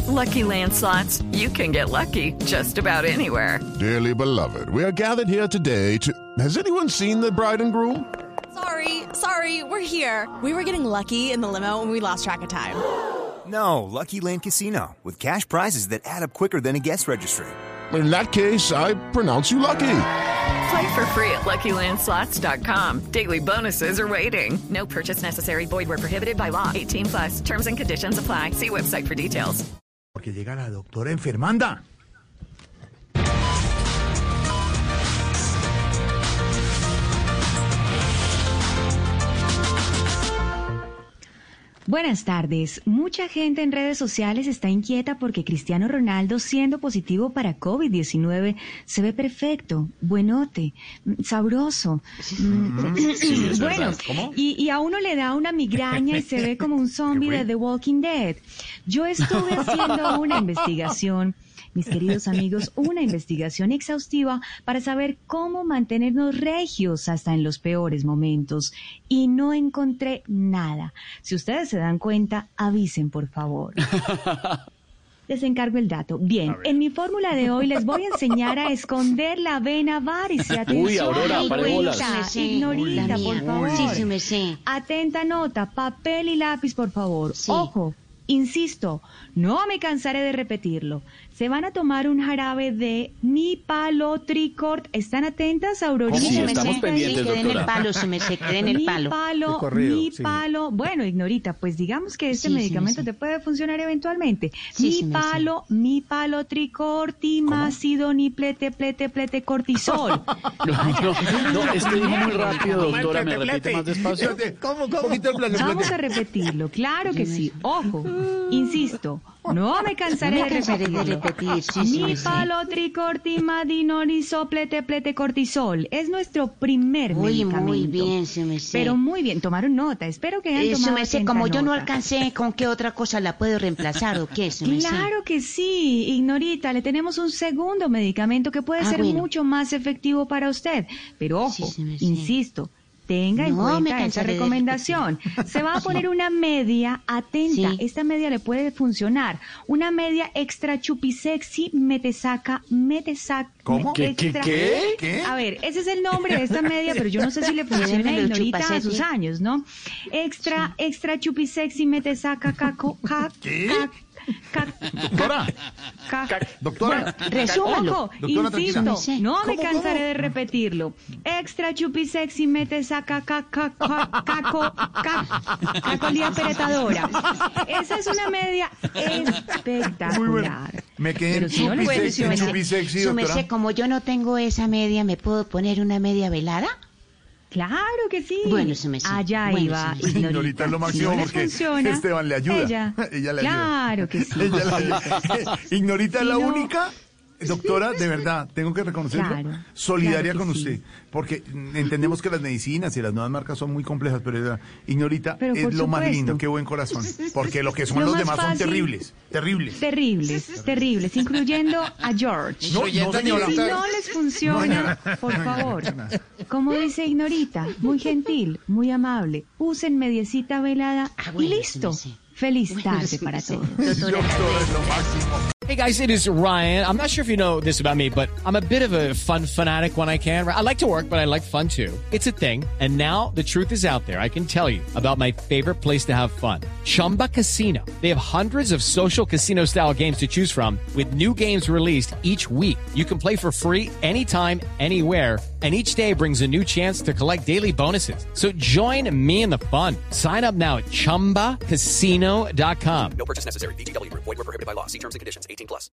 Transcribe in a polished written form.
Lucky Land Slots, you can get lucky just about anywhere. Dearly beloved, we are gathered here today to... Has anyone seen the bride and groom? Sorry, we're here. We were getting lucky in the limo and we lost track of time. No, Lucky Land Casino, with cash prizes that add up quicker than a guest registry. In that case, I pronounce you lucky. Play for free at LuckyLandSlots.com. Daily bonuses are waiting. No purchase necessary. Void where prohibited by law. 18+. Terms and conditions apply. See website for details. Porque llega la doctora enfermanda. Buenas tardes. Mucha gente en redes sociales está inquieta porque Cristiano Ronaldo, siendo positivo para COVID-19, se ve perfecto, buenote, sabroso. Bueno, y a uno le da una migraña y se ve como un zombie de The Walking Dead. Yo estuve haciendo una investigación, mis queridos amigos, una investigación exhaustiva para saber cómo mantenernos regios hasta en los peores momentos. Y no encontré nada. Si ustedes se dan cuenta, avisen, por favor. Les encargo el dato. Bien, en mi fórmula de hoy les voy a enseñar a esconder la vena varice. Atención, Uy, Aurora, pare bolas. Ignorita, por favor. Sí, me sé. Atenta nota, papel y lápiz, por favor. Sí. Ojo. Insisto, no me cansaré de repetirlo. Se van a tomar un jarabe de Mipalotricort. ¿Están atentas, Aurorita? Sí, estamos pendientes, doctora. queden el palo, queden el palo. Mipalo. Bueno, Ignorita, pues digamos que este medicamento te puede funcionar eventualmente. Sí, Mipalotricort, timácido, plete, cortisol. No, es que dijo muy rápido, doctora, ¿me repite más despacio? ¿Cómo? Vamos a repetirlo, claro que sí. Ojo, insisto, no me cansaré de repetirlo. Mipalotricort, plete, cortisol. Es nuestro primer medicamento. Muy bien, se me sé. Pero muy bien, tomaron nota. Espero que hayan tomado me sé, como yo no alcancé, ¿con qué otra cosa la puedo reemplazar o qué? Claro que sí, Ignorita, le tenemos un segundo medicamento que puede ser mucho más efectivo para usted. Pero ojo, insisto, tenga en cuenta esa recomendación. Se va a poner una media, atenta, esta media le puede funcionar. Una media extra chupisexy metesaca. ¿Cómo? ¿Qué? A ver, ese es el nombre de esta media, pero yo no sé si le funciona a Ignorita a sus años, ¿no? Extra chupisexy metesaca Doctora. Resúmalo. Ojo, insisto, no me cansaré de repetirlo. Extra chupisexy metesaca cacolía peretadora. Esa es una media espectacular. Muy buena. Me quedé en chupisexy, doctora. Como yo no tengo esa media, ¿me puedo poner una media velada? Claro que sí. Bueno, se me allá iba. Ignorita es lo máximo porque Esteban le ayuda. Ella le ayuda. Claro que sí. Ella le ayuda. Ignorita es la única, doctora, de verdad, tengo que reconocerlo, solidaria con usted, porque entendemos que las medicinas y las nuevas marcas son muy complejas, pero Ignorita es lo más lindo, qué buen corazón, porque lo que son los demás son terribles, incluyendo a George. No, señora. Si no les funciona, por favor, como dice Ignorita, muy gentil, muy amable, usen mediecita velada y listo. Feliz tarde para todos. Hey guys, it is Ryan. I'm not sure if you know this about me, but I'm a bit of a fun fanatic when I can. I like to work, but I like fun too. It's a thing. And now the truth is out there. I can tell you about my favorite place to have fun. Chumba Casino. They have hundreds of social casino style games to choose from with new games released each week. You can play for free anytime, anywhere. And each day brings a new chance to collect daily bonuses. So join me in the fun. Sign up now at ChumbaCasino.com. No purchase necessary. VGW Group. Void where prohibited by law. See terms and conditions. 18+.